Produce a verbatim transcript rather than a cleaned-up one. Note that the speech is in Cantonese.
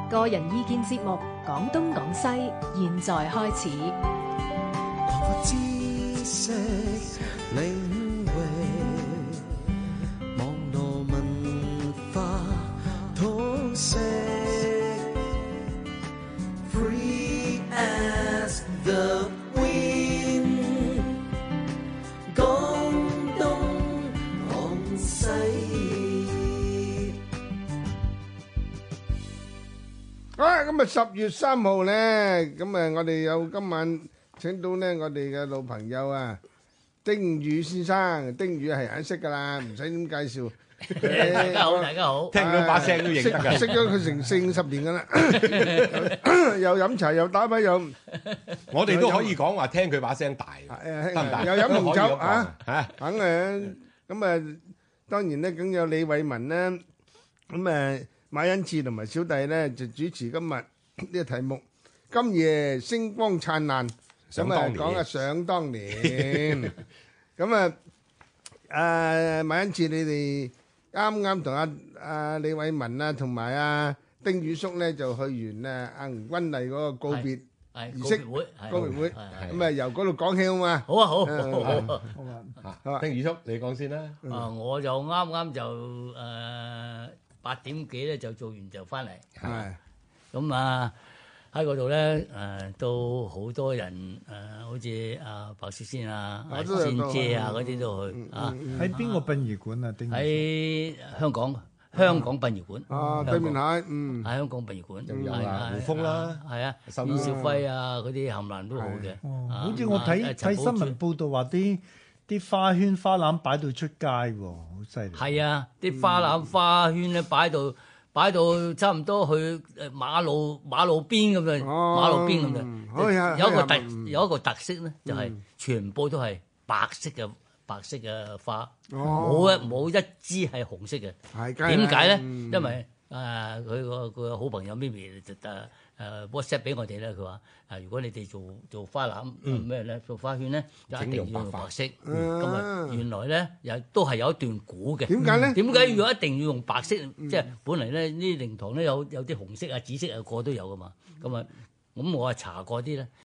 個人意見節目《講東講西》，現在開始。 擴闊知識領域，網絡文化通識 ，Free as the wind， 講東講西。 好啦，咁啊十月三號咧，咁啊我哋有今晚請到咧我哋嘅老朋友啊，丁宇先生，丁宇係人識噶啦，唔使點介紹。 大家好，大家好。 聽到把聲都認得㗎。 識咗佢成四五十年噶啦，又飲茶又打牌又， 我哋都可以講話聽佢把聲大，得唔得？ 又飲紅酒啊， 嚇， 梗係咁啊！當然咧，梗有李偉文啦，咁啊馬恩賜同埋小弟咧就主持今日呢個題目。今夜星光燦爛，咁啊講啊想當年，咁啊誒馬恩賜你哋啱啱同阿阿李偉文啊同埋阿丁宇叔咧就去完啊阿吳君麗嗰個告別儀式會， 告別會，咁啊由嗰度講起好嘛？ 好啊，好，好，好啊。 丁宇叔，你講先啦。 啊，我就啱啱就誒八點幾咧就做完就翻嚟， 係咁啊喺嗰度咧誒都好多人誒，好似阿白雪仙啊、阿仙姐啊嗰啲都去啊。 喺邊個殯儀館啊？丁喺香港香港殯儀館啊，對面海，嗯， 喺香港殯儀館， 有啊胡楓啦， 係啊， 沈阮兆輝啊嗰啲冚唪唥都好嘅。 哦， 啊好似我睇啊睇新聞報道話啲啲花圈花籃擺到出街喎，好犀利。 係啊，啲花籃花圈咧擺到擺到差唔多去誒馬路馬路邊咁樣， 哦馬路邊咁可以啊樣。有一個特可以啊有一個特色咧，就係全部都係白色嘅白色嘅花， 哦冇一冇一支係紅色嘅。 係梗係啦點解咧？ 嗯因為誒佢個佢個好朋友咪咪就誒誒 WhatsApp 俾我哋咧，佢話誒如果你哋做做花籃咩咧，做花圈咧，就一定要用白色。咁啊，原來咧又都係有一段估嘅。 點解咧？ 點解要一定要用白色？即係本嚟咧呢啲靈堂咧有有啲紅色啊、紫色啊個都有噶嘛。咁啊，咁我啊查過啲咧，